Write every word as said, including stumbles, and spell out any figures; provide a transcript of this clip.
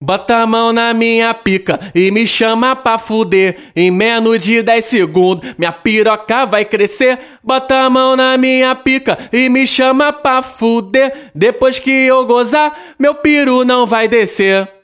Bota a mão na minha pica e me chama pra fuder. Em menos de dez segundos minha piroca vai crescer. Bota a mão na minha pica e me chama pra fuder. Depois que eu gozar, meu piru não vai descer.